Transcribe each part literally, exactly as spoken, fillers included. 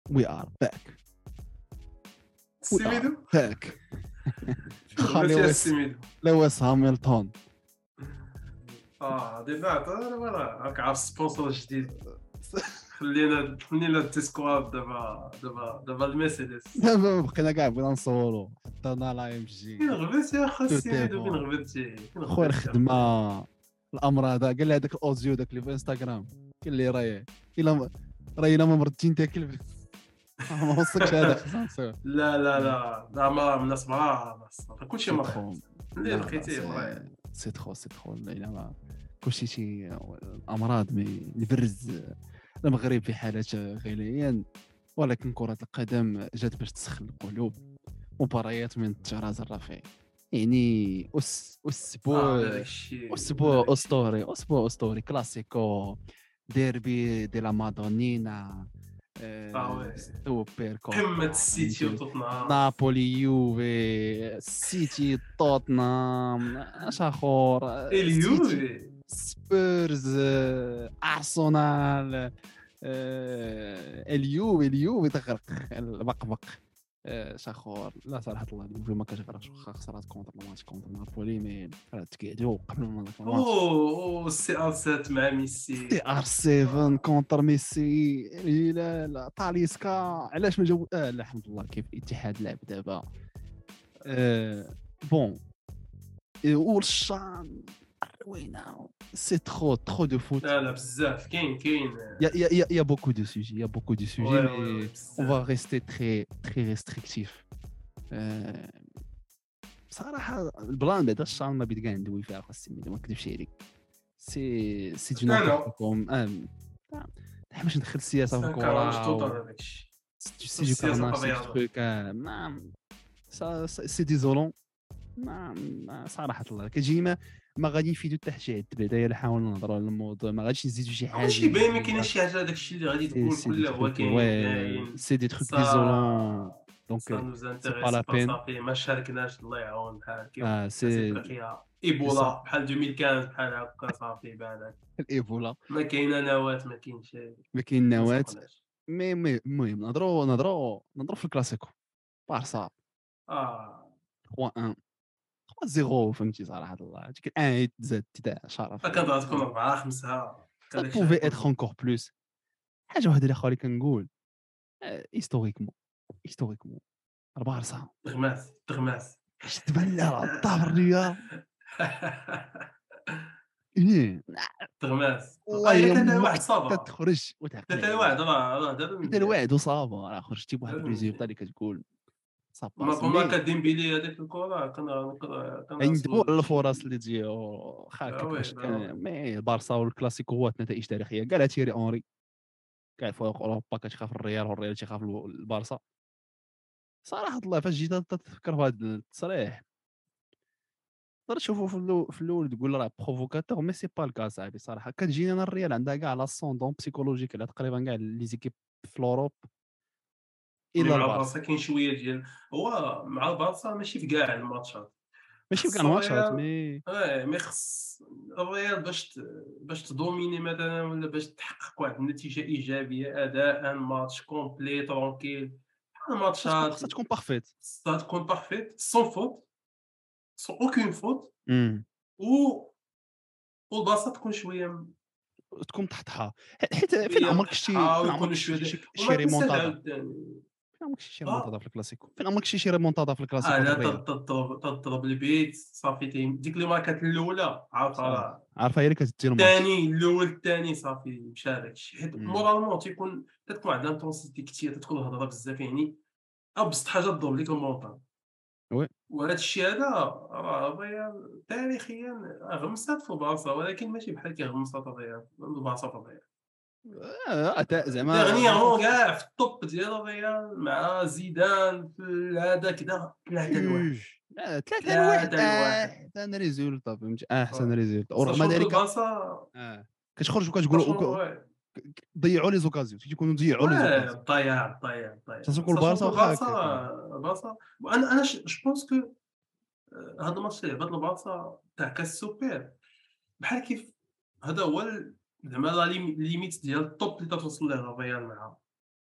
we are back we are السميدو back خلي لويس السميدو لويس هامilton اه ديما عطانا ولا راك عارف سبونسور جديد خلينا خلينا التسكواد دابا دابا دابا المرسيدس دابا بقينا كاع بغينا نصوروا حطينا لا ام جي فين غبت يا خا تو السميدو فين تيفون. غبتي فين خويا غبتي الخدمه الامر هذا قال لي هذاك الاوديو داك اللي في انستغرام قال لي راهي الا ما- راهي الا ما مرضتي تاكل ما وصلكش هذا خصنا نصور لا لا لا لا ما من الناس مرا كلشي سي مرا ترو اللي لا لا لقيتيه مرا سي سي ترو سي ترو لا ما كلشي شي الامراض مي البرز المغرب في حالة غليان ولكن كرة القدم جات باش تسخن القلوب مباريات من الطراز الرفيع يعني أس أسبوع اه هذاك الشيء أسبوع أسطوري أسبوع أسطوري كلاسيكو ديربي دي لا مادونينا آه وي. سوبر كوبا قمة السيتي وتوتنهام نابولي يوفي السيتي توتنهام اش اخر اليوفي سبيرز ارسنال آه، اليوفي اليوفي تغرق البقبق اش اخر لا صراحه الله اليوفي ما كتغرقش واخا خسرات كونتر الماتش كونتر نابولي مي تقعدوا قبل ما داك الماتش اوه اوه السي ار سات مع ميسي تي ار سبعة كونتر ميسي الهلال طاليسكا علاش ما جاو اه لا الحمد لله كيف الاتحاد لعب دابا آه بون والشان روينا سي ترو ترو دو فوت لا لا بزاف كاين كاين يا يا يا يا بوكو دو سوجي يا بوكو دو سوجي وي مي وي اون فا ريستي تري تري ريستريكتيف بصراحه البلان بعدا الشان ما بيت كاع ندوي فيها خاصني ما نكذبش عليك سي سي دو نابورتكم ام باش ندخل السياسه في الكره هذاك الشيء سي دو كارناج سي تروك ما سي ديزولون ما ما صراحه الله كتجي ما ما غادي نفيدو حتى شي عد بعدا الا حاولنا نهضروا على الموضوع ما غاديش نزيدو شي حاجه ماشي باين ما كاينش شي حاجه هذاك الشيء اللي غادي تقول كله هو كاين كاين سي دي تروك ديزولون دونك سا نوز سي با انتريس لا با بين صافي ما شاركناش الله يعاون بحال كيف اه سي افريقيا ايبولا بحال ألفين وخمسة بحال هكا صافي بالك الايبولا ما كاينه نواه ما كاينش ما كاين نواه نسوقناش. مي مي المهم نهضروا نهضروا نهضروا في الكلاسيكو بارسا اه ثلاثة واحد ثلاثة صفر فهمتي صراحه الله ديك الان تزاد تاع شرف كانت تكون أربعة خمسة ça pouvait être encore plus حاجه واحده اللي خالي كنقول هيستوريكمون هيستوريكمون البارسا تغماس تغماس شفت بلا الطابر الرياض ايه تغماس والله اه يا ثلاثة واحد امك صافا تخرج وتعقل ثلاثة واحد راه راه دابا انت الوعد وصافا راه خرجتي بواحد الريزولتا اللي كتقول صافا ما كنا كديمبيلي هذيك الكره كنا كنا ندوي على الفرص اللي تجي واخا آه وي، كيفاش آه كان مي البارسا والكلاسيكو هو نتائج تاريخيه كاع تيري اونري كاع فوق اوروبا كتخاف الريال والريال تيخاف البارسا صراحه الله فاش جيت تفكر في هذا التصريح تقدر تشوفوا في الاول في الاول تقول راه بروفوكاتور مي سي با الكا صاحبي صراحه كتجيني انا الريال عندها كاع لاسوندون بسيكولوجيك على تقريبا كاع لي زيكيب في الاوروب مي الا مع البارسا البارسا كاين شويه ديال هو مع البارسا ماشي في كاع الماتشات ماشي في كاع خص الماتشات الريال مي اه مي خص الريال باش ت... باش تدوميني مثلا ولا باش تحقق واحد النتيجه ايجابيه اداء ماتش كومبلي ترونكيل بحال خاصها تكون الماتشات خاصها تكون بارفيت خصها تكون بارفيت سون فوت سون اوكين فوت امم و والبارسا تكون شويه تكون تحتها حيت فين شويه عمرك شتي مطحه فين ويكونوا عمرك شويه شتي ديال شي وما شي تنساش ريمونتادا عاوتاني فين عمرك شي ريمونتادا اه في الكلاسيكو فين عمرك شي ريمونتادا في اه الكلاسيكو لا الريال تضرب تضرب البيت صافي تيم ديك اللي ماركات الاولى عارفه صافي راه عارفه هي اللي كتدير الماتش الثاني الاول الثاني صافي مشى هذاك الشيء حيت مم. مورالمون تيكون تكون عندها انتونسيتي كثير تدخل الهضره بزاف يعني ابسط حاجه تضرب لك المونطال وي وهذا الشيء هذا راه الريال تاريخيا غمسات في البارسا ولكن ماشي بحال كيغمسات الريال البارسا في الريال اه تا- زعما ديرنييرمون كاع في الطوب ديال الريال مع زيدان في هذا كذا ثلاثة لواحد جوج آه، ثلاثة لواحد ثلاثة لواحد احسن ريزولتا فهمتي احسن ريزولتا بصح ورغم شوف ذلك البارسا اه كتخرج وكتقول فرشمون وك- واه ضيعوا لي زوكازيون تيكونوا ضيعوا لي واه زوكازيون ضيع ضيع ضيع ساشون كو ساشون البارسا كو واخا البارسا هكاك البارسا وانا انا جو بونس كو هذا الماتش اللي لعبات البارسا تاع كاس السوبر بحال كيف هذا هو ال- زعما لا ليميت ديال الطوب اللي توصل ليه الريال معاه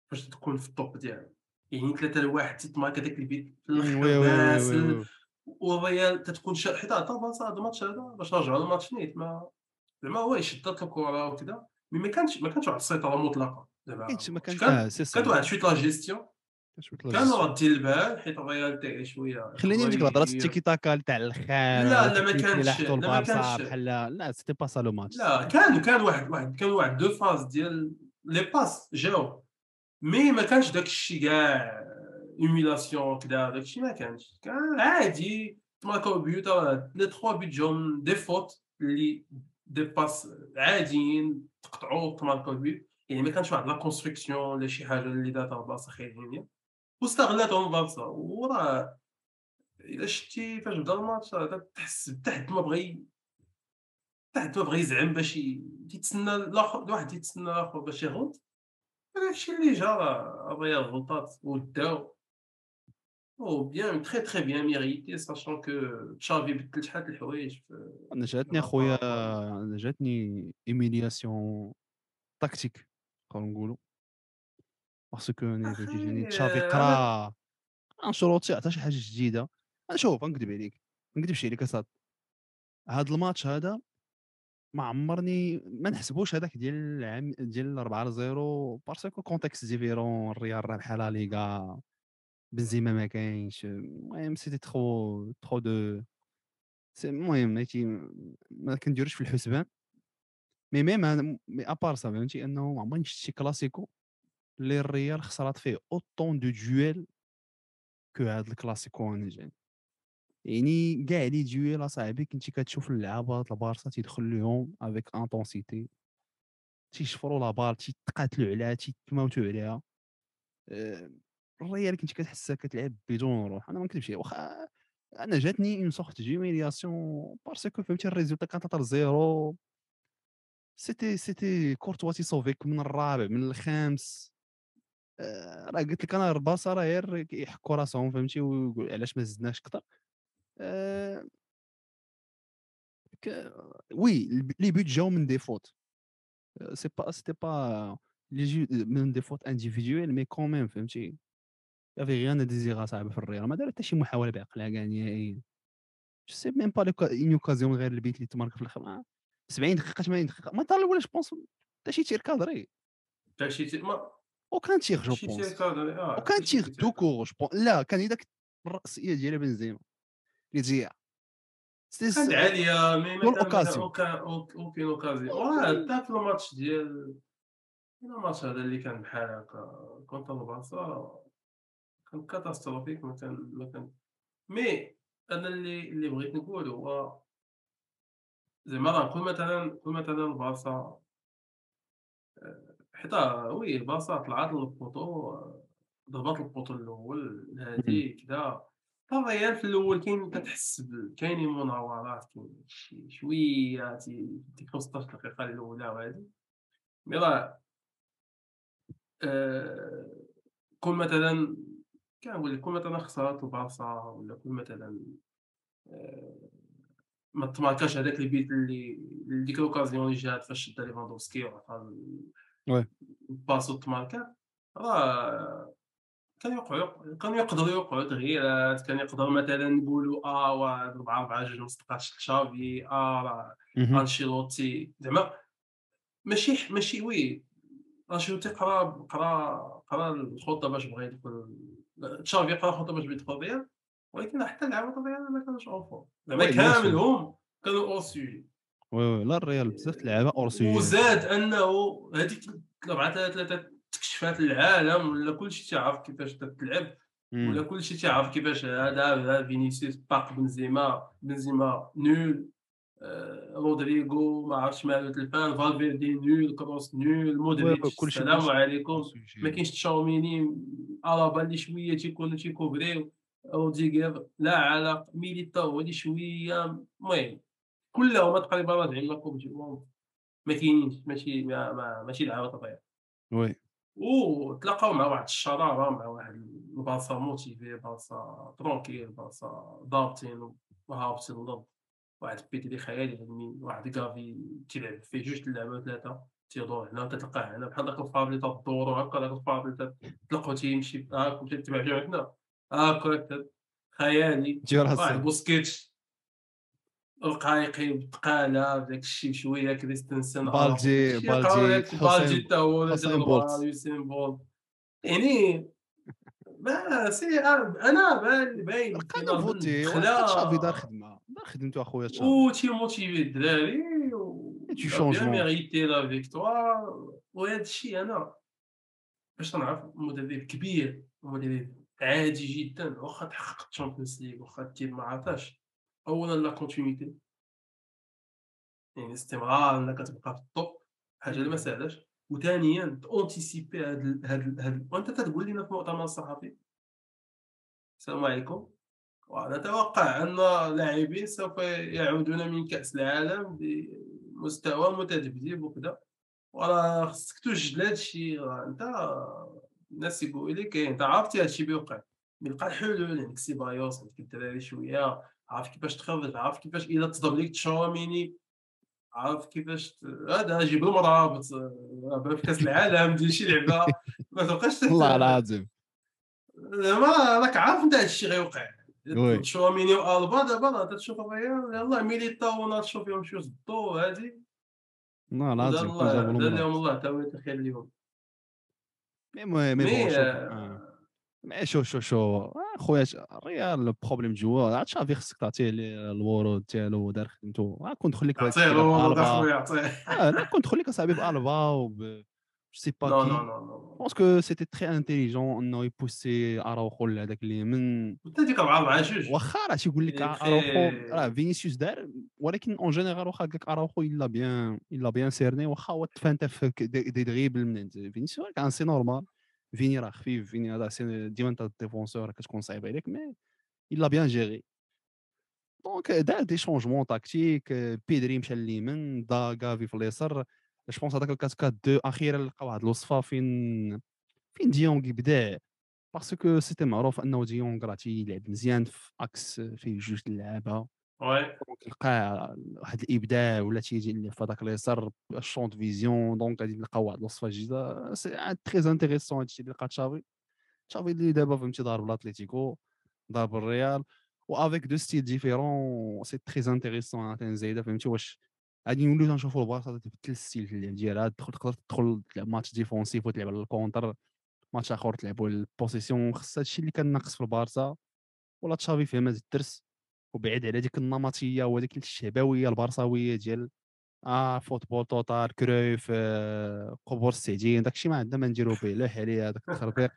فاش تكون في الطوب ديالها، يعني ثلاثة لواحد تتماركا داك البيت في إمم، الآخر وي، وي، وي، وي، باسل، وي. والريال تتكون شا حيت عطا بارسا هاد الماتش هذا باش رجعوا الماتش نيت ما زعما هو شدات الكرة وكذا، مي ما كانش ما كانش واحد السيطرة مطلقة، ما زعما كاينش ما الماتش كان كان آه سي سا كانت ما واحد شوية لا جيستيون، كانش شويه لا كانوا جيستيون. رادين البال حيت الريال تاعي شوية خلّيني من يقدروا ديك الهضرة ي التيكي تاكا تاع لا، الخال لا ما فاش كانش يلاحظوا لا ما البارسا كانش بحال لا سيتي با سا لو ماتش لا سيتي كان كان واحد واحد كانوا واحد deux فاز ديال لي باس جاو. مي ما كانش داك الشي كاع humiliation كدا داك الشي ما كانش، كان عادي تماركاو بيوت راه لي ثلاثة بيوت جاو من دي فوت اللي دي باس عاديين تقطعوا تماركاو بيوت، يعني ما كانش واحد لا construction ولا شي حاجة اللي دارتها البارسا خايبين واستغلاتهم البارسا، وراه إلا شتي فاش بدا الماتش راه تحس حتى حد ما بغى حتى حد ما بغى يزعم باش ي تيتسنى الآخر الواحد يتسنى الآخر باش يغلط، هذاك الشي اللي جا راه الريال غلطات وداو. Oh bien, très très bien mérité, sachant que Xavi بدل شحال د الحوايج في أنا جاتني par اخويا rapport à أنا جاتني إيميلياسيون تاكتيك نقدروا نقولوا، باسكو أنا فهمتي جاني أخي تشافي أنا قرا أنشيلوتي عطا شي حاجة جديدة. أنا شوف غنكذب عليك، ما نكذبش عليك أصاحبي، هاد الماتش هذا ما عمرني ما نحسبوش هذاك ديال العام ديال أربعة صفر باسكو كونتكست ديفيرون الريال رابحة لا ليغا بنزيما ما كاينش المهم سيتي ترو ترو دو سي المهم هادشي ما كنديروش في الحسبان. مي ميم أنا مي ابار سا فهمتي انه ما عمرني شفت شي كلاسيكو اللي الريال خسرات فيه اوطون دو دويل كو هاد الكلاسيكو انا جاي. يعني كاع لي دويل اصاحبي كنتي كتشوف اللعابه البارسا تيدخل لهم افيك انتونسيتي تيشفروا لا بال تيتقاتلوا عليها تيتموتوا عليها. آآ الريال كنتي كتحسها كتلعب بدون روح. أنا ما نكذبش عليك واخا أنا جاتني une sorte d'humiliation باسكو فهمتي الريزولتا كان ثلاثة صفر سيتي سيتي كورتوا تيصوفيك من الرابع من الخامس. آآ راه قلت لك أنا البارسا راه غير كيحكوا راسهم فهمتي ويقول علاش ما زدناش كتر. آآ ك وي الب لي بوت جاو من دي فوت. سي با سيتي با لي جو من دي فوت individuelles mais quand même فهمتي. يافي غيان à désirer أصاحبي في الريال ما دار حتى شي محاولة بعقلها كاع نهائيًا. جو سي ميم با لوكا اون اوكازيون غير البيت اللي تمارك في الاخر ما سبعين دقيقة ثمانين دقيقة ما دار الاولى جو بونس حتى شي تير كادري حتى شي ت ما وكان تيغ جو شي تير بونس كادري آه، وكان حتى شي تيغ تير دو كادري كور جو بون لا كان هذاك الرأسية ديال بنزيما اللي تجيها سي كانت عالية مي ما دون كان ما كان اوكازيون أوكان أوك أوكين أوكازيون، واه اوكي حتى في الماتش ديال الماتش هذا اللي كان بحال هكا كونتر البارسا كان كاتاستروفيك ما كان ما كان مي أنا اللي اللي بغيت نقول هو زعما راه كون مثلًا كون مثلًا البارسا حيت آه، وي البارسا طلعت للبوطو ضربات البوطو الأول مم. هادي كدا، الريال في الأول كاين كتحس ب كاينين مناورات كاين شي شوية تي ديك خمسطاش دقيقة الأولى وهادي، مي راه آآ كون مثلًا كنقول لك كون مثلًا خسرات البارسا ولا كون مثلًا آآ ما تماركاش هذاك البيت اللي ديك لوكازيون اللي جات فاش شدا ليفاندوفسكي وعطا ال وي الباس تماركات راه كانوا يوقعوا كانوا يقدروا يوقعوا تغييرات، كان يقدروا مثلًا نقولوا آه واه أربعة أربعة جوج ما صدقاتش لتشافي، آه راه مهم. أنشيلوتي زعما ماشي ح ماشي وي أنشيلوتي قرا قرا قرا الخطة باش بغا يدخل تشافي قرا الخطة باش بغا يدخل الريال، ولكن حتى لعابة الريال ما كانوش au fond زعما وي بيان سور كاملهم كانوا hors sujet. وي وي لا الريال بزاف د اللعابة اور سوجي. وزاد أنه هذيك أربعة ثلاثة ثلاثة تكشفات للعالم ولا كلشي تيعرف كيفاش تتلعب، ولا كلشي تيعرف كيفاش هذا هذا فينيسيوس باق بنزيما، بنزيما nul آآ رودريغو ما عرفتش ماله تلفان، فالفيردي nul، كروس nul، وي وي مودريتش كلشي السلام كلشي اور عليكم، ما سوجي. كاينش تشاوميني، ألابا اللي شوية تيكونوا تيكوفريو، روديغر لا علاقة، ميليتاو هو اللي شوية المهم كلهم تقريبا راجعين لا كوب دو موند. ما كاينينش ماشي ما ما ماشي لعابة طبيعية، وي وتلاقاو مع واحد الشرارة مع واحد البلاصة موتيفي بلاصة ترونكيل بلاصة ضابطين وهابطين للأرض، واحد بيدري خيالي علمي، واحد كافي تيلعب فيه جوج د اللعابة ثلاثة. تيدور هنا وتتلقاه هنا بحال داك الفابلي تدورو هاكا داك الفابلي تطلقو تيمشي هاك ومشى تبع جوج هنا هاكا خيالي. تجي واحد راسك بوسكيتش رقايقي بثقالة بداك الشي بشوية كريستنسن آلابا بالجي داكشي قراو بالجي داك بالجي حسين حتى هو ولا حسين ديلبا بولت. يوسين بولت يعني ما سي أنا بان باين لقى لو فينالمون فوتي ولقى تشافي دار دخلة خدمه دار خدمته اخويا تشافي. وتيموتيفي الدراري دو و il a bien شونجمون. mérité la victoire وهذا الشيء أنا باش تنعرف مدرب كبير ومدرب عادي جدًا واخا تحقق الشامبيونز ليغ واخا التيم ما عطاش. أولًا لا كونتينيتي يعني الاستمرار أنك تبقى في التوب حاجة اللي ما إمم. ساهلاش. وثانيًا تأنتيسيبي هاد ال هاد ال هاد وأنت تتقول لينا في المؤتمر الصحفي السلام عليكم ونتوقع أن اللاعبين سوف يعودون من كأس العالم بمستوى متذبذب وكذا. وراه خصك توجد لهاد الشي راه أنت الناس يقولوا لي كاين أنت عرفتي هاد الشي بيوقع يلقى الحلول عندك سيبايوس عندك الدراري شوية عارف كيفاش تخرج عارف كيفاش إلا تصدر ليك تشاوميني عارف كيفاش ت هذا جيب المرابط راه بان في كأس العالم دير شي لعبة ما تبقاش تت والله العظيم. زعما راك عارف أنت هاد الشي غيوقع. وي. تشاوميني وألبا دابا راه تتشوف الريال يلاه ميليتاو وناتشو فيهم شي صدو هادي والله ودار العظيم كون الله جابوا دار لهم المرابط. الله تا هو الخير ليهم. مي مي مي مي بون شوف آه. مي شوف شوف شوف خويا الريال البروبليم جوا عاد تشافي خصك تعطيه لي الورود ديالو دار خدمته. آه كون دخل لك بهذاك عطيه الشيء دابا الورود ألبا. اخويا عطيه. اه لا كون دخل لك اصاحبي بألبا وب جو سي با نو نو كي. نو نو بونسكو سيتي تري انتيليجون انه يبوسي اراوخو لهذاك اليمين. انت ديك أربعة مع جوج واخا راه تيقول لك يعني اراوخو تخي راه فينيسيوس دار ولكن اون جينيرال واخا قال لك اراوخو الا بيان الا بيان سيرني واخا هو تفانت في ك- دي دي دريبل من عند فينيسيوس كان سي نورمال. فيني راه خفيف فيني هذا سي ديما انت ديفونسور كتكون صعيب عليك مي الا بيان جيري. دونك دار دي شونجمون تاكتيك. بيدري مشى لليمين دا كافي في اليسار. جو بونس هذاك الكات كات دو اخيرا لقى واحد الوصفه فين فين ديونغ يبدع. باسكو سيتي معروف انه ديونغ راه تيلعب مزيان في اكس فيه جوج د اللعابه. وي دونك لقى واحد الابداع ولا تيجي اللي في هذاك اليسار الشونط فيزيون دونك غادي نلقاو واحد الوصفه جديده سي تري انتريسون هادشي اللي لقى تشافي. تشافي اللي دابا فهمتي ضارب الاتليتيكو ضارب الريال وافيك دو ستيل ديفيرون سي تري انتريسون عاوتاني زايده فهمتي واش غادي نوليو تنشوفوا البارسا تبدل الستيل في اللعب ديالها تدخل تقدر تدخل تلعب ماتش ديفونسيف وتلعب على الكونتر ماتش اخر تلعبوا البوسيسيون خص هادشي اللي كان ناقص في البارسا ولا تشافي فهم هذا الدرس وبعيد على ديك النمطيه وهذيك الشعبويه البارساويه ديال اه فوتبول توتال كرويف آه قبور السعدين داكشي ما عندنا ما نديرو به لا عليه هذاك التخربيق.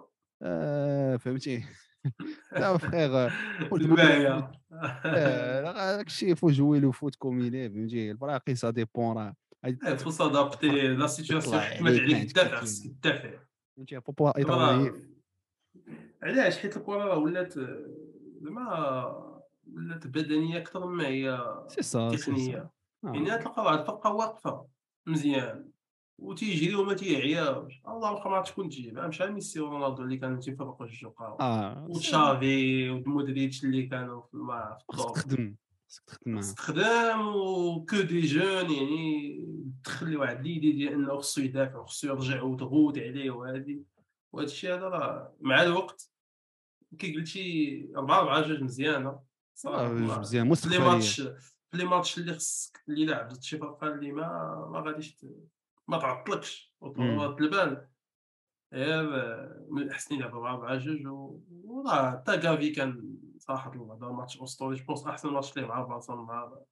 آه فهمتي. لا فخير فوت بويلو فوت. الماهية. اه داكشي فو جويلو فوت كوميني فهمتي البراقي سا ديبون راه غادي إيه، خصو تفرق سادابتي لا يطلع سيتوياسيون حيت ما عليك ما عليك عندك ما تدافع دير خصك تدافع. فهمتي فو دابا ايتر راه نايف. علاش حيت الكرة راه ولات زعما ولات بدنية أكثر مما هي سي سا سي سا. تقنية. يعني اه غتلقى واحد الفرقة واقفة مزيان وتيجري وما تيعياش اللهم ما تكون تجيب عام شحال ميسي ورونالدو اللي كانوا تيفرقوا الجوقة اه سي وتشافي ومودريتش اللي كانوا في الم- في خصك الطوب. تخدم خصك تخدم خاص معاه. تخدم وكو دي جون يعني تدخل لي واحد ليدي ديال انه خصو يدافع وخصو يرجع وتغوت عليه وهادي وهذا الشيء هذا راه مع الوقت كي قلتي أربعة أربعة جوج مزيانة آه، صراحة ما مزيان في لي مستقبليه. ماتش في لي ماتش اللي خصك اللي لعبت شي فرقة اللي ما ما غاديش ت ما تعطلكش امم وترد البال غير من الأحسن يلعب أربعة أربعة جوج و وراه حتى كافي كان صراحة الله دار ماتش أسطوري جو بونس أحسن ماتش ليه مع البارسا النهار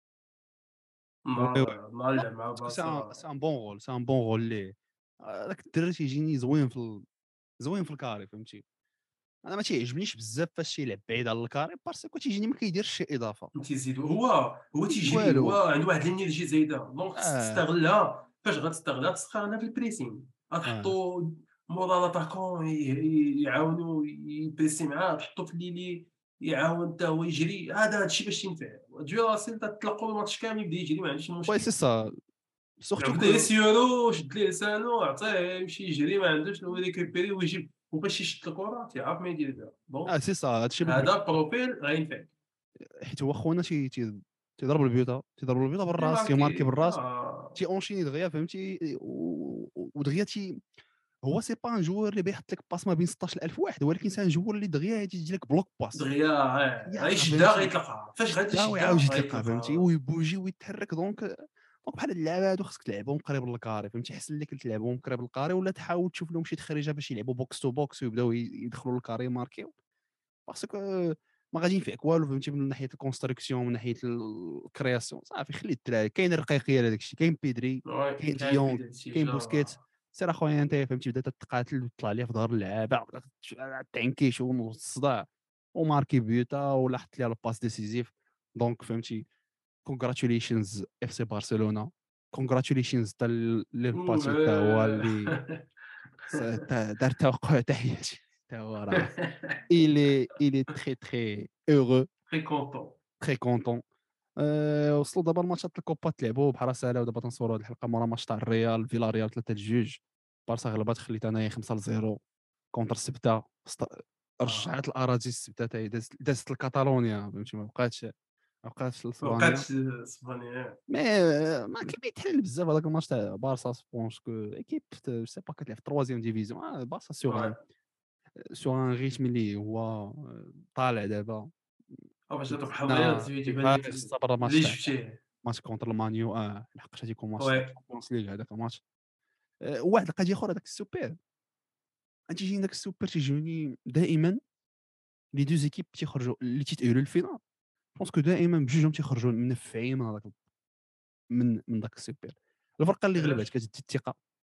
وي وي. النهار النهار اللي لعب مع باسكو سي ان البارسا. سي ان بون رول سي ان بون رول ليه. هذاك الدري تيجيني زوين في ال... زوين في الكاري فهمتي. انا ما تيعجبنيش بزاف فاش تيلعب بعيد على الكاري باسكو تيجيني ما كيديرش شي اضافه. تيزيدو هو هو ما كيدير تيجري هو والو. عنده واحد الانرجي زايده دونك خصك اه تستغلها. فاش غتستغلها تستغلها في البريسينغ اه غتحطو مورا لاتاكون يعاونو يبريسي معاه تحطو في ليلي يعاون حتى هو يجري هذا هادشي باش ينفع. تجي راسل تطلقوا الماتش كامل يبدا يجري ما عندوش وي مشكل. سي سا سورتو بدا كو. يسيرو شد ليه لسانو عطيه يمشي يجري ما عندوش هو ريكوبيري ويجيب وباش يشد الكره تيعرف ما يدير بها دونك اه سي سا هادشي اللي بغيت. هذا بروفيل غينفع. حيت هو خونا تي تي تيضرب البيوتا تيضرب البيوتا لي بالراس تيماركي ماركي بالراس. آه. تي اونشيني دغيا فهمتي و- و- ودغيا تي هو سي با ان جوور اللي بيحط لك باس ما بين ستاش ألف واحد، ولكن سي ان جوور اللي دغيا غادي يجي لك بلوك باس دغيا غا- يا غيشدها فهمتي، غيطلقها، فاش غادي شدها يشدها ويعاود يطلقها فهمتي، غيطلقها. ويبوجي ويتحرك. دونك دونك بحال هاد اللعابه هادو خصك تلعبهم قريب للكاري فهمتي، حسن لك تلعبهم قريب للكاري، ولا تحاول تشوف لهم شي تخريجه باش يلعبوا بوكس تو بوكس ويبداو ي- يدخلوا للكاري ماركيو، باسكو ما غادي ينفعك والو فهمتي من ناحيه الكونستركسيون، من ناحيه الكرياسيون. صافي خلي الدراري، كاين الرقيقيه لهداك الشيء، كاين بيدري، وي كاين كاين ديونغ، بيداتي كاين بوسكيت. جا. سير اخويا انت فهمتي بدا تتقاتل وتطلع ليه في ظهر اللعابه، بدا تعنكيش والصداع وماركي بيوتا ولا حط ليه الباس ديسيزيف. دونك فهمتي كونغراتوليشنز اف سي برشلونه، كونغراتوليشنز حتى للباتي حتى هو اللي س- تا- دار توقع تحياتي حتى هو راه il est il est très très heureux تري كونطون. très content. أه وصلوا دابا الماتشات الكوبا تلعبوا بحال ساهله، ودابا تنصوروا هذه الحلقه مورا ماتش تاع الريال فيلا ريال ثلاثة لجوج. بارسا غلبات، خليت انايا خمسة لصفر كونتر سبته. است- اه رجعت الاراضي السبته تاعي، دازت دازت لكاتالونيا فهمتي، ما بقاتش ما بقاتش ما لاسبانيا. بقاتش اسبانيا. مي ما كيبان يتحل بزاف هذاك الماتش تاع بارسا. سبونس كو ايكيب سي با كتلعب في تروازيام ديفيزيون. بارسا سيغ وي ان سيغ ان ريتم اللي هو آه، طالع دابا. او باش تربح الريال وزدنا تيبان لك كيفاش صبر الماتش اللي تاع شفتيه. ماتش كونتر المانيو. اه لحقاش غادي يكون ماتش تاع وي الشامبيونز ليغ هذاك الماتش. آه، واحد القضيه اخرى، داك السوبر تيجيني، داك السوبر تيجوني دائما لي دوز ايكيب تيخرجوا اللي تيتأهلوا للفينال. بونسكو دائما بجوجهم تيخرجوا منفعين من هذاك من من داك السوبر. الفرقه اللي غلبات علاش؟ كتدي الثقه،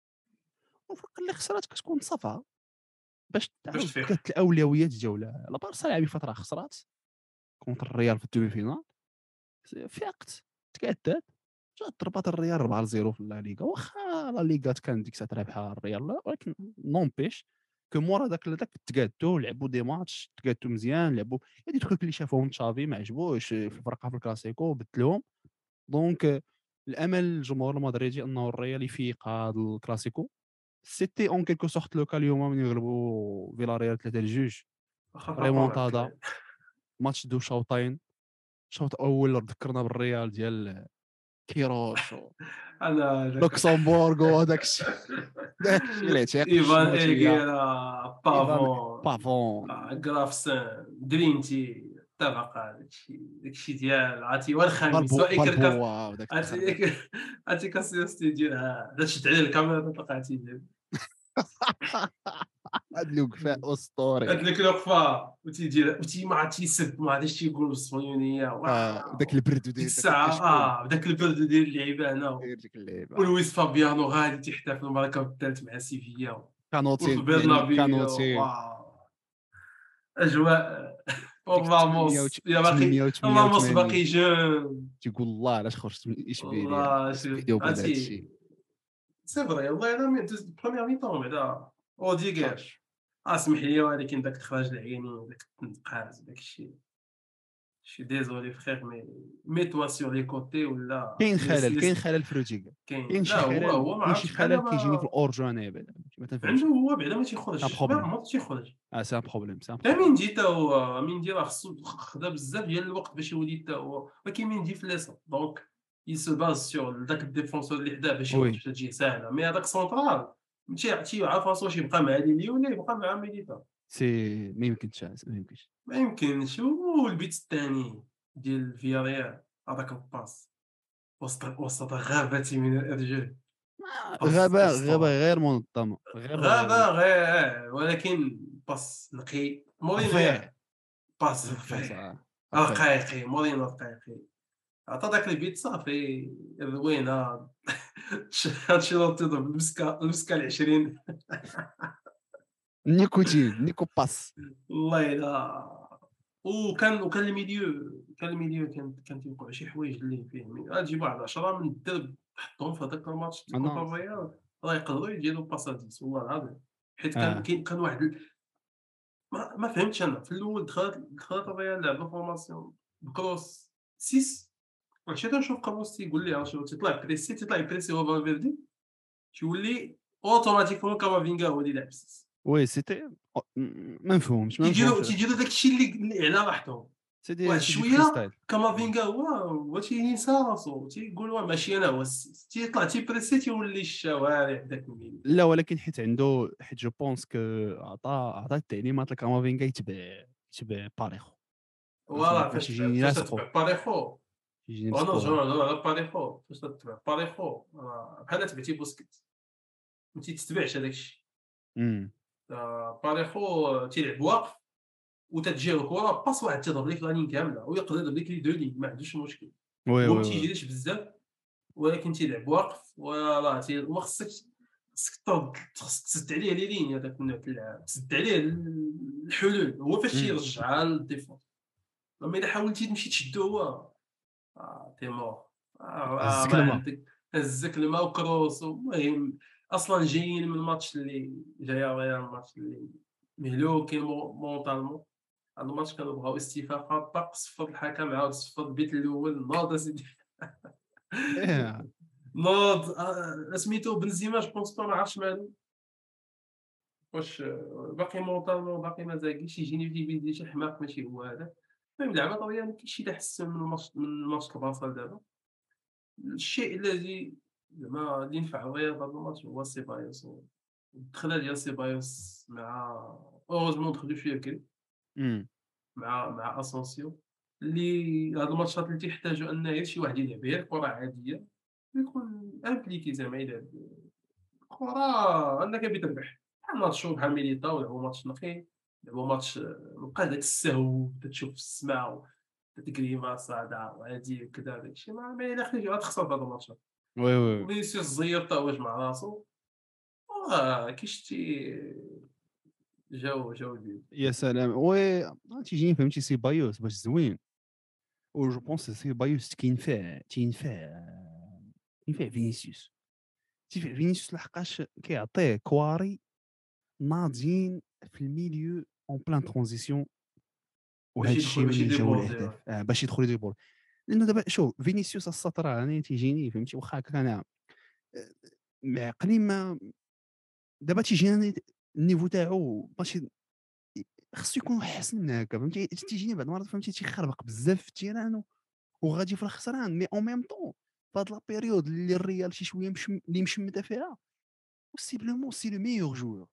والفرقه اللي خسرات كتكون صافا باش باش تعاود تفيق. كت الاولويات ديالها. لا بارسا لعب فتره خسرات كونتر الريال في الدومي فينال، فاقت تكادات، جات ضربات الريال أربعة لصفر في لا ليغا. واخا لا ليغا كان ديك الساعه رابحه الريال، لا، ولكن نونبيش كو مورا داك داك تقادوا لعبوا دي ماتش، تقادوا مزيان، لعبوا هادي التخوك اللي شافوهم تشافي ما عجبوش في الفرقه في الكلاسيكو بدلوهم. دونك الامل الجمهور المدريدي انه الريال يفيق هذا الكلاسيكو. سيتي اون كيلكو سورت لو كا اليوم من يغلبوا فيلا ريال ثلاثة لجوج. واخا طاحوا ريمونتادا، لك. ماتش دو شوطين. شوط اول ذكرنا بالريال ديال كيروش انا هذاك لوكسمبورغ وهذاك الشيء. داك الشيء اللي تعيق في ايفان الشموتيه. ايغيرا ايفان بافون. بافون. آه، جرافسن درينتي اتفق. هذاك الشيء داك الشيء ديال عرفتي هو الخميس بالبو هو ايكر كاس. بالبوا وداك عرفتي التخربيق. ايكر عرفتي كاسيوستي ديالها دا شد عليه الكاميرا طلقاتي. هاد الوقفه اسطوري. هاد الوقفه وتيدير وتي ما عرفتي يسب ما عرفتش تيقول بالصهيونيه. اه وداك واو البرد ديك وداير داك الساعه الكشكول، اه بداك البرد ديال اللعيبه هنا. داير ديك اللعيبه. ولويس فابيانو غادي تيحتفل المركب الثالث مع سيفيا كانوتي وفي يعني برنابيو. كانوتي واو اجواء. ديك وراموس يا باقي راموس باقي ثمانمية وثمانية وثمانين جون. تيقول الله علاش خرجت من اشبيليا والله درت شوف فيديو بعد هذا عرفتي الشيء. سي فري والله انا من دوز بروميير مي طون بعدا صافي اوديغير. اسمح لي ولكن داك تخرج العيني داك التنقاز داك الشيء. شي ديزولي فخير مي مي توا سور لي كوتي ولا كاين ليس خلل، كاين ليس. خلل في روتيغا. كاين كاين شي لا هو خلل، هو ما كاين شي عرفتش بحال خلل كيجيني في ما الاورجو انا بعدا ما عنده تنفهمش. هو بعدا ما سان تيخرجش ما بروبليم. عمرو تيخرج. اه سان بروبليم سان تا بروبليم. ميندي تا هو ميندي راه خصو خدا بزاف ديال الوقت باش يولي تا هو ولكن ميندي فليسا دونك il se base sur داك الديفونسور اللي حداه باش يخرج وي باش تجي ساهله. مي هذاك سونترال تي تيعرف راسو واش يبقى مع ليلي ولا يبقى مع ميليتا. سي ما يمكنش ما يمكنش. ما يمكنش. والبيت الثاني ديال فياريال هذاك الباس وسط وسط غابة من الارجل. آه، باس غابه غابه اسطوري. غير منظمه، غابه غير غابة منظمه. غير ولكن باس نقي مورينو رفيع. ياك. باس هذاك الباص رفيع آه، رفيع. رقيقي مورينو رقيقي. عطا داك البيت صافي روينه. انشيلوتي ضرب المسكه المسكه العشرين. نيكوتين نيكو باس. والله الا. وكان وكان الميليو كان الميليو كان كان تيوقع شي حوايج اللي فيه غتجيب واحد عشرة من الدرب حطهم في هذاك الماتش كونتر انا الريال راه يقدروا يديروا باساديس والله العظيم. حيت كان اه كاين كان واحد ال- ما, ما فهمتش انا في الاول دخلت دخلت الريال لعبه فورماسيون بكروس ستة. ومشيت نشوف كروس تيقول لي شنو تيطلع بريسي تيطلع بريسي هو فالفيردي تيولي اوتوماتيكمون كامافينغا هو اللي لعب ستة. وي سيتي ما مفهومش ما تيديروا مفهومش هذاك تيديروا الشيء. داك الشيء اللي اللي على راحتهم. سيدي واحد سيدي شويه فريستايل. كامافينغا هو هو تينسى راسو تيقول واه ماشي انا هو السيس تيطلع تيبريسي تيولي الشوارع داك الميل. لا ولكن حيت عنده حيت جو بونس كو عطا عطا التعليمات لكامافينغا يتبع يتبع باريخو. فوالا باش فاش تبع يجيني فاش لاصقو تتبع باريخو يجيني ونرجعو لصقوها. نهضرو على باريخو فاش تتبع باريخو راه بحال تبعتي بوسكيت ما تيتبعش هذاك الشيء. امم آه، باريخو تيلعب واقف وتتجيو الكره باس واحد تيضرب لك لانين كامله ويقدر يضرب لك لي دو لين ما عندوش مشكل. وي هو وي ما وي تيجريش بزاف ولكن تيلعب واقف وراه تي وما خصك خصك ترد خصك تسد عليه لي لين هذاك النوع د اللعب تسد عليه ال- الحلول هو فاش امم تيرجعها للديفونس. اما الا حاولتي تمشي تشدو هو آه تي مور آه, آه هزك ما الماء. عندك هزك الماء وكروس المهم اصلا جايين من الماتش اللي جايه ريال الماتش اللي مهلوكين مو- مونطالمون. هاد الماتش كانوا بغاو استفاقه طاق صفر الحكم عاود صفر البيت الاول ناض اسيدي ايه ناض آه، سميتو بنزيما جو بونس با ما عرفتش مالو واش آه، باقي مونطالمون باقي ما زاكيش يجيني في بيدي شي حماق ماشي هو هذاك. المهم لعبه طويله ما كاينش شي اللي احسن من الماتش من ماتش البارسا دابا. الشيء الذي زعما اللي نفع الريال في هذا الماتش هو سيبايوس الدخله ديال سيبايوس مع اوروزمون دخلوا شويه بكري امم مع مع اسونسيو اللي هاد الماتشات اللي تيحتاجوا ان غير شي واحد يلعب غير كره عاديه ويكون امبليكي زعما يلعب كره انك بتربح بحال ماتشو بحال ميليتاو لعبوا ماتش نقي لعبوا ماتش آه، بقى داك السهو تتشوف في السماء تتكريما صاعده وهادي وكذا داك الشيء ما ما الى اخره غتخسر في هاد الماتشات. وي وي وفينيسيوس زير تا واش مع راسو آه كي شتي جاو جاو جوج. يا سلام وي تيجيني فهمتي سيبايوس باش زوين و جو بونس سيبايوس كينفع تينفع ينفع فينيسيوس تينفع فينيسيوس لحقاش كيعطيه كواري ناضيين في الميليو اون بلان ترانزيسيون وهذا باش الشيء يدخل من باش اللي جاو يديبوردي الاهداف آه باش يدخلوا يجيبوا. لانه دابا شوف فينيسيوس السطر انا تيجيني فهمتي واخا هكا انا آه، معقلين ما دابا تيجيني النيفو تاعو ماشي خصو يكون احسن من هكا فهمتي تيجيني بعض المرات فهمتي تيخربق بزاف في التيران وغادي في الخسران مي اون ميم طون في هاد لا بيريود اللي الريال شي شويه مش اللي مشمته فيها بوسيبلومون سي لو ميور جوور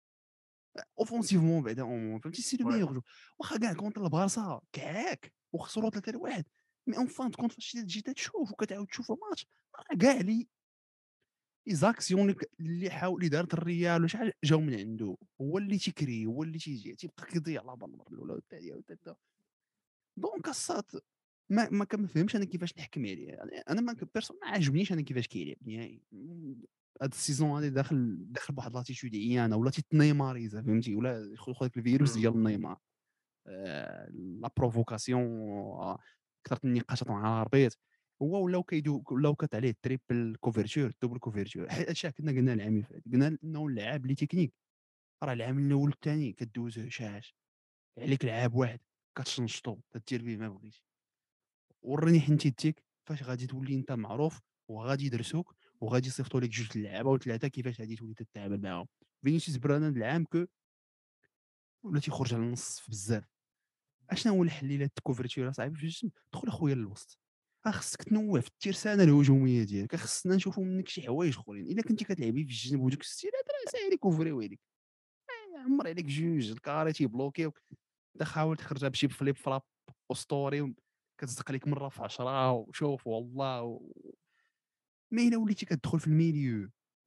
اوفونسيفمون بعدا اون فهمتي سي لو وي ميور جو واخا كاع كونتر البارسا كعاك وخسروا ثلاثة لواحد مي اون فان كونت فاش تجي تشوف وكتعاود تشوف الماتش راه كاع لي لي زاكسيون اللي اللي حاول اللي دارت الريال وشحال جاو من عنده هو اللي تيكري هو اللي تيجي تيبقى كيضيع لا بال المره الاولى والثانيه والثالثه دونك الساط ما ما كنفهمش انا كيفاش نحكم عليه يعني انا ما بيرسون ما عاجبنيش انا كيفاش كيلعب نهائي هاد السيزون هادي داخل داخل بواحد لاتيتود عيانه ولا تيتنيماريزا فهمتي ولا خذ خذ الفيروس ديال النيمار آه، لا بروفوكاسيون آه، كثرة النقاشات مع الاربيط هو ولاو كيدو ولاو كات عليه تريبل كوفرتور دوبل كوفرتور هادشي كنا قلنا العام اللي فات قلنا انه اللاعب اللي تكنيك راه العام الاول والثاني كدوز هشاش عليك لعاب واحد كتشنشطو تدير به ما بغيتي وريني حنتي ديك فاش غادي تولي انت معروف وغادي يدرسوك وغادي يصيفطوا لك جوج اللعابه وثلاثه كيفاش غادي تولي تتعامل معاهم. فينيسيوس برانا هاد العام كو ولا تيخرج على النص في بزاف اشنا هو الحل الا الكوفرتير صاحبي في الجسم دخل اخويا للوسط خاصك تنوع في الترسانه الهجوميه ديالك خصنا نشوفوا منك شي حوايج اخرين الا كنتي كتلعبي في الجنب ودوك الستيلات راه ساهل يكوفريو عليك عمر عليك جوج الكاري تيبلوكيو انت حاول تخرجها بشي فليب فلاب اسطوري كتصدق لك مره في عشرة وشوف والله و... ما الا وليتي كتدخل في الميليو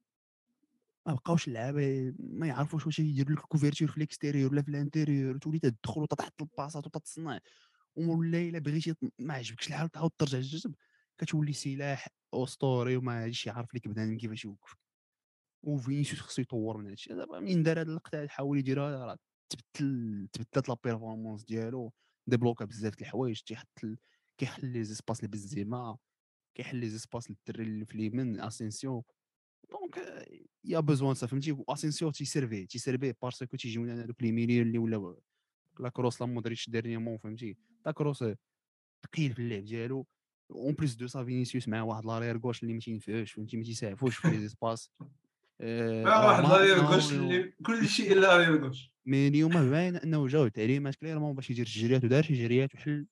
ما بقاوش اللعابه ما يعرفوش واش يديروا لك الكوفرتور في الاكستيريور ولا في الانتيريور تولي تدخل وتحط الباصات وتتصنع ولا الا بغيتي ما عجبكش الحال تعاود ترجع للجسم كتولي سلاح اسطوري وما هادشي عارف لك بنادم كيفاش يوقف وفينيسيوس خصو يطور من هادشي دابا منين دار هاد اللقطه حاول يديرها راه تبدل تبدلت لا بيرفورمانس ديالو ديبلوكا بزاف د الحوايج تيحط ال... كيحل لي زيسباس لبنزيما كيحل لي زيسباس للدري اللي في اليمين اسينسيو دونك يا بوزوان سا فهمتي اسينسيو تيسيرفي تيسيرفي باسكو تيجيو لنا هذوك لي ميليون اللي ولاو لا كروس لا مودريتش ديرنيامون فهمتي لا كروس ثقيل في اللعب ديالو اون بليس دو سا فينيسيوس مع واحد لارير غوش اللي ما تينفعوش فهمتي ما تيسعفوش في لي زيسباس مع آه، راه واحد ما لارير ما غوش اللي كل شيء الا لارير غوش. مي اليوم باين انه جاو تعليمات كليرمون باش يدير الجريات ودار شي جريات وحل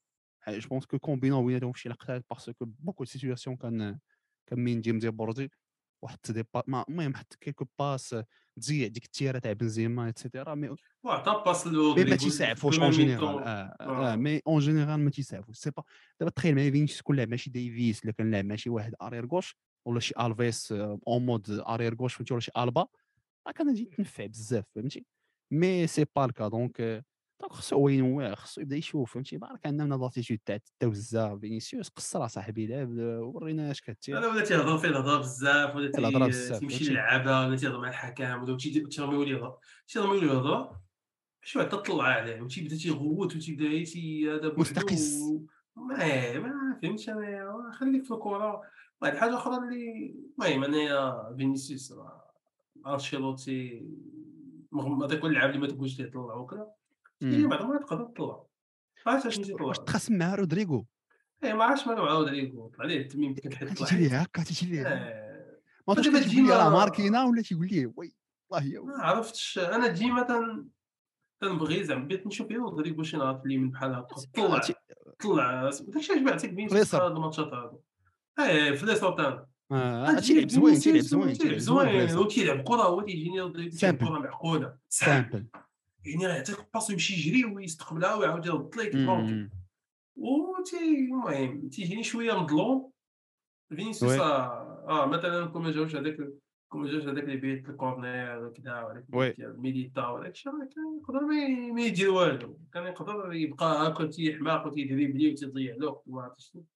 جو بونس كو كومبينون بيناتهم في شي لقطات باسكو بوكو سيتوياسيون كان كان ميندي مديبوردي وحط دي با ما المهم حط كيلكو باس تزيع ديك التياره تاع بنزيما ايتترا مي وعطى باس مي ما لرودريغو في تيسعفوش اون البروميير جينيرال ميطون. اه اه آه. مي اون جينيرال ما تيسعفوش سي با دابا تخيل معايا فينيسيوس كون لعب ماشي ديفيس الا كان لعب ماشي واحد ارير غوش ولا شي الفيس اون مود ارير غوش فهمتي ولا شي البا راه كان غادي يتنفع بزاف فهمتي مي سي با الكا دونك دونك خصو هو ينوع خصو يبدا يشوف فهمتي بارك عندنا من لاتيتود تاع التوزع فينيسيوس قصر صاحبي لعب ورينا اش كدير انا ولا تيهضر فيه الهضره بزاف، ولا الهضره تي... بزاف تيمشي فهمتي للعبه، ولا تيهضر مع الحكام، ولا تيدي- تيرميو ليه الهضره، تيرميو ليه الهضره شي واحد تطلع عليه وتيبدا تيغوت وتيبدا غير تي هذا مستقز بوحدو. ما ما فهمتش انايا، خليك في الكره. واحد الحاجه اخرى اللي المهم انايا فينيسيوس راه انشيلوتي رغم هذا كل اللاعب اللي ما تقولش ليه طلع وكذا، هي امم بعض المرات تقدر تطلع، ما عرفتش واش علاش واش تيطلع. تخاصم مع رودريغو اي ما عرفتش مالو مع رودريغو، طلع ليه التميم ديك الحيط كان طلع تيجي ليه حيت. هكا تيجي ليه آه، ما عرفتش فدابا كان تيقول لي راه ديما ماركينا ولا تيقول ليه وي والله يا ما وي عرفتش، انا ديما تن كنبغي زعما بغيت نشوف غير رودريغو شي نهار في اليمين بحال هكا آه، تي- طلع طلع داك الشي علاش بعتك فينيسيوس في فليسر هاد الماتشات هادو. ايه في لي سوتان آه غتجي تيلعب زوين تيلعب فينيسيوس زوين تيلعب تيلعب زوين زوين فليسر وتيلعب كرة، هو تيجيني رودريغو تيلعب سامبل كرة معقولة سامبل، سامبل يعني راه يعطيك باس ويمشي يجري ويستقبلها ويعاود يرد ليك دونك. امم و تي المهم تيجيني شوية مظلوم فينيسيوس. وي اه آه، مثلا كون ما جاوش هذاك كون ما جاوش هذاك اللي بيت الكورنير وكذا، وهذاك اللي وي ديال ميليتا وداك الشيء، راه كان يقدر ما ي- ما يدير والو، كان يقدر يبقى هاكا تيحماق وتيدريبلي وتيضيع الوقت وما عرفت شنو.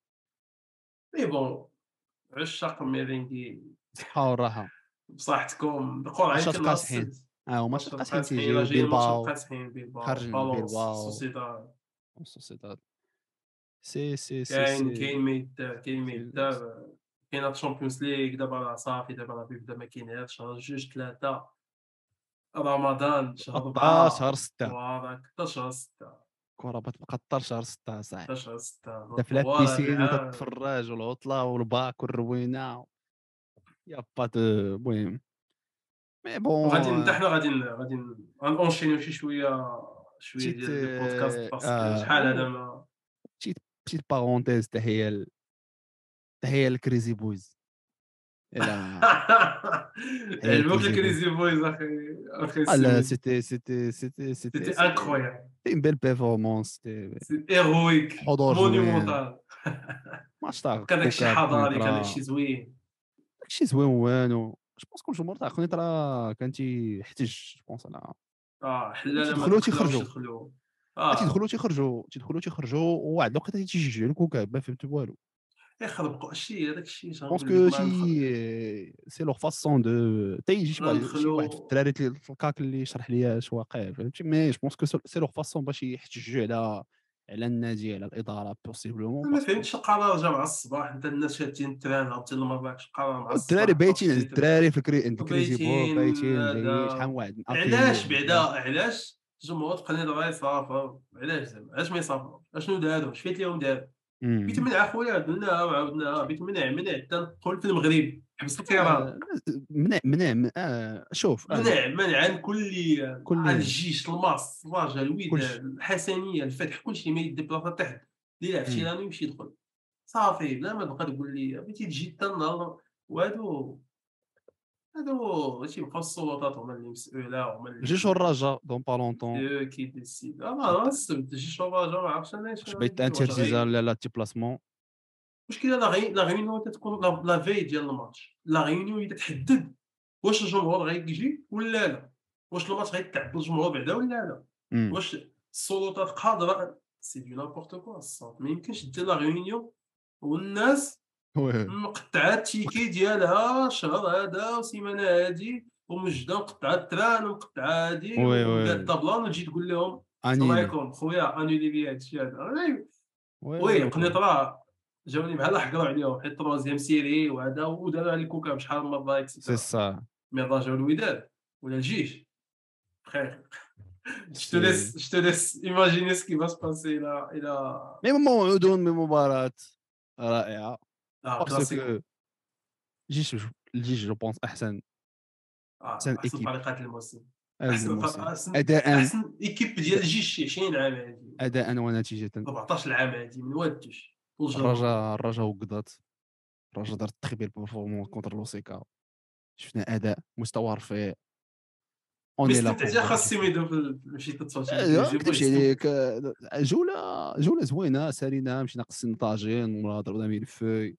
مي بون عشاق ميرينغي صحة والراحة بصحتكم القرعة ماتشات يمكن نهار قاصحين السبت. اه ماتش ماتشات قاصحين القاسحين راه تيجيو جايين ماتش بيلباو القاسحين، بيلباو خرج من بالونس بيلباو سوسيداد. سوسيداد سي سي سي كاين سي كاين ما يدار كاين ما سي يدار. كاينه الشامبيونز ليغ دابا راه صافي، دابا راه بيبدا ما كاينهاش شهر جوج ثلاثة رمضان شهر حداش شهر أربعة ستة فوالا حتى شهر ستة الكرة بتبقى طر شهر ستة صاحبي حتى شهر ستة انت في طوال هاد لابيسين العام. وتتفرج والعطلة والباك والروينة يا با دو المهم مي وغادي ن- حتى بون حنا غادي ن- غادي ن- غنأونشينيو شي شوية شوية بتيت ديال ديال البودكاست باسكو اه شحال هذا او ما بتيت بتيت بارونتيز تحية ل- تحية لكريزي بويز الى تحية عجبوك لكريزي بويز الكريزي بويز اخي اخي Ah là, السميت. c'était c'était c'était c'était سيتي c'était انكرويابل، c'était une belle performance c'était سي ايرويك حضور زوين مونيمونتال. ماتش تاع كان داكشي كوكا حضاري، كان بكونيترا داكشي زوين. داكشي زوين والو جو بونس كل الجمهور تاع كونيترا كان تيحتج جو بونس على اه حلالة ما تيدخلوا تخلاوش تيخرجوا يدخلوا. اه تيدخلوا تيخرجوا تيدخلوا تيخرجوا وواحد الوقت تيشجعوا الكوكا ما فهمت والو يخربقوا شي هذاك الشيء بونس شنقول لك كو ما ندخل. شي سي لوغ فاسون دو حتى يجي شي واحد شي واحد في غندخلوا الدراري اللي في الكاك اللي يشرح لي اش واقع فهمتي مي جو بونس كو سي لوغ فاسون باش يحتجوا على على النادي على الاداره بوسيبلومون ما باسكو فهمتش القرار جا مع الصباح، انت الناس شادين التران عرفتي لمراكش، القرار مع الدراري الصباح بايتين طاطشي تران الدراري في كري عند كريزي بول وبايتين بايتين جايين شحال هذا. من واحد علاش الفينيو بعدا وكاع علاش الجمهور تقني دابا يصافر؟ علاش زعما علاش ما يصافروش؟ اشنو داروا؟ اش فايت ليهم داروا؟ بيت امم منع خويا درناها وعاودناها، بيت منع منع حتى ندخل في المغرب حبس الطيران. آه منع منع من- آه شوف انا منع منعا كليا على كليا الجيش الماس الرجاء كلشي الوداد الحسنيه الفتح كلشي ما يديبلاصا تحت اللي يلعب شي امم راني يمشي يدخل صافي، بلا ما تبقى تقول لي بغيتي تجي حتى النهار. وهادو هادو تيبقاو السلطات هما اللي مسؤوله، هما الجيش اللي والرجاء دون با لونتون سي او كي ديسيد. اه ما السبت جي شوفاجا ما عرفتش انا باش شنو بيت غيدير، واش انترزيزا غي لا ديبلاسمون المشكله لا غي لا غيونيون تتكون لا لا في ديال الماتش، لا غيونيون تتحدد واش الجمهور غيجي ولا لا، واش الماتش غيتلعب بالجمهور بعدا ولا لا، امم واش السلطات قادره. سي دو نابورت كوا الصوت، ما يمكنش دير لا غيونيون والناس وي مقطعه التيكي ديالها شهر هذا وسيمانه هادي ومجده مقطعه التران ومقطعه هادي وي وقاد وي طابلان وتجي تقول لهم السلام انيلي عليكم خويا انولي لي هادشي هذا. وي وي وي قنيط راه جاوني بحال حكروا عليهم حيت تروازيام سيري وهذا وداروا على الكوكب شحال من مره سي اكسيتيرا. سا مي رجعوا الوداد ولا الجيش بخير. je te سي laisse je te laisse imaginer ce qui va se passer الى الى مي موعودون بمباراة رائعة اه كلاسيكو. باسكو الجيش الجيش جو بونس احسن اه احسن احسن ايكيب فريقات الموسم. هذا احسن الموسم فرق احسن اداء احسن ايكيب ديال الجيش شي عشرين عام هادي اداء ونتيجه. أربعطاش عام هادي من والدوش الرجا الرجا وقضات الرجا دار تخبير بيرفورمون كونتر لوسيكا، شفنا اداء مستوى رفيع. مي اوني لا استمتعتي اخا السيميدو في مشيت تتصوت ما نكذبش عليك، جوله جوله زوينه سالينا، مشينا قصينا طاجين ولا ضربنا ملفوي.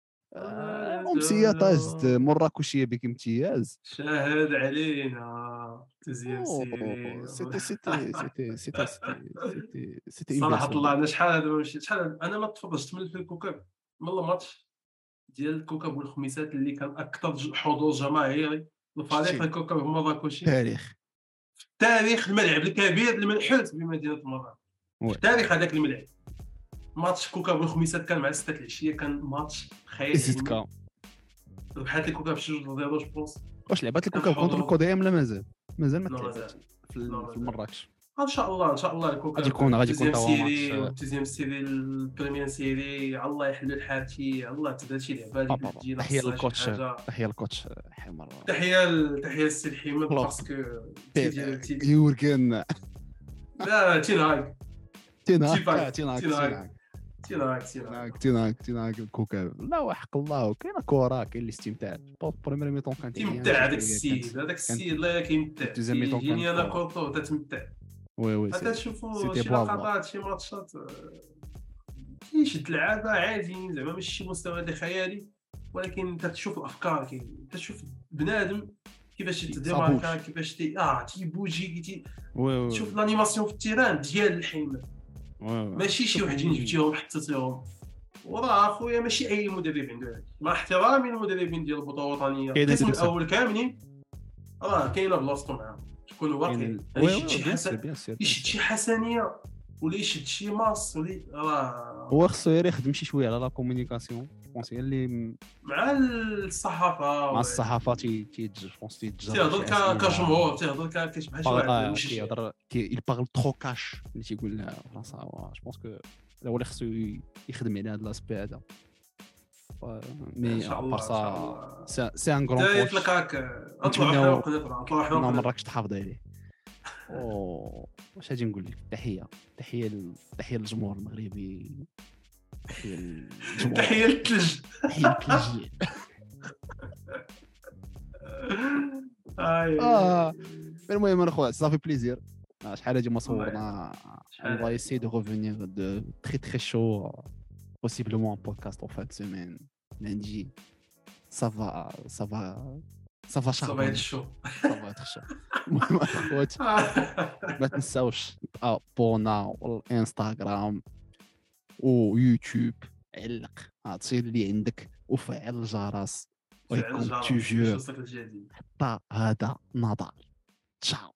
امسيه طازت مراكشيه بك امتياز. شاهد علينا تزيان سيري سيتي سيتي سيتي سيتي سيتي سيتي صراحه طلعنا شحال هذا ماشي شحال. انا ما تفرجت من في الكوكب من الماتش ديال الكوكب والخميسات اللي كان اكثر حضور جماهيري لفريق الكوكب المراكشي تاريخ في تاريخ الملعب الكبير المنحوت بمدينه مراكش، في تاريخ هذاك الملعب. ماتش كوكب والخميسات كان مع ستة العشيه، كان ماتش خيالي. زيدكا ربحات الكوكب شي جوج ديال جو بونس. واش لعبات الكوكب كونتر الكوديام لا مازال مازال ما لا، تلعبش مازال. في لا، في مراكش. ان شاء الله ان شاء الله الكوكب غادي يكون غادي يكون الدوزيام توا سيري ماتش والدوزيام سيري البريمير سيري. الله يحلو الحال شي الله تبدا شي لعبه اللي بابا. تجي تحيه ناقصها شي للكوتش حاجه. تحيه للكوتش حمر تحيه ل- تحيه للسي حماد الله. باسكو تي ديال تي يوركن لا تيناك تيناك تيفاك. تيناك تيناك. تيناك تيناك تيناك تيناك تيناك الكوكب. لا وحق الله كاينه كره كاين الاستمتاع. بريمير ميطون كانت تيمتع هذاك السيد هذاك السيد لا كيمتع الدوزيام ميطون يجيني كانت انا كورة. كورتو تتمتع. وي وي حتى تشوفوا سيتي شي بلافا. لقطات شي ماتشات آه، كيشد اللعابه عاديين زعما ماشي شي مستوى هذا خيالي، ولكن انت تشوف الافكار كاين انت تشوف بنادم كيفاش يتديماركا كيفاش تي اه تيبوجي تي وي وي تشوف الانيماسيون في التيران ديال الحين ماشي شي وحدين جبتيهم حطيتيهم. وراه اخويا ماشي اي مدرب عنده هذا، مع احترامي للمدربين ديال البطوله الوطنيه القسم الاول كاملين راه كاينه بلاصتو معاهم تكونوا واقعين. يشد شي حسن يشد شي حسنيه ولا يشد شي ماس ولا راه هو خصو غير يخدم شي شويه على لا كومونيكاسيون. بونس هي اللي مع الصحافه مع الصحافه تي تيتج بونس تيتجر تيهضر كجمهور تيهضر كيشبه شي واحد ماشي كيهضر كي il parle trop cash اللي تيقول لها فرنسا. جو بونس كو هو اللي خصو يخدم على هذا لاسبي هذا. مي ابار سا سي ان غران كوش يطلقك اطلع حروق اطلع حروق ما راكش تحافظ عليه. او واش غادي نقول لك. تحيه تحيه تحيه للجمهور المغربي. تحيه للجمهور تحيه للثلج تحيه للثلج. اه المهم اخويا صافي بليزير. شحال هادي ما صورنا. on va essayer de revenir de très très chaud possiblement un podcast en fin de semaine lundi. ça va ça va ça va ça va être chaud ça va être chaud. المهم اخواتي ما تنساوش ابونا والانستغرام ويوتيوب. علق تصير اللي عندك وفعل الجرس ويكون توجور حتى هذا نضال. تشاو.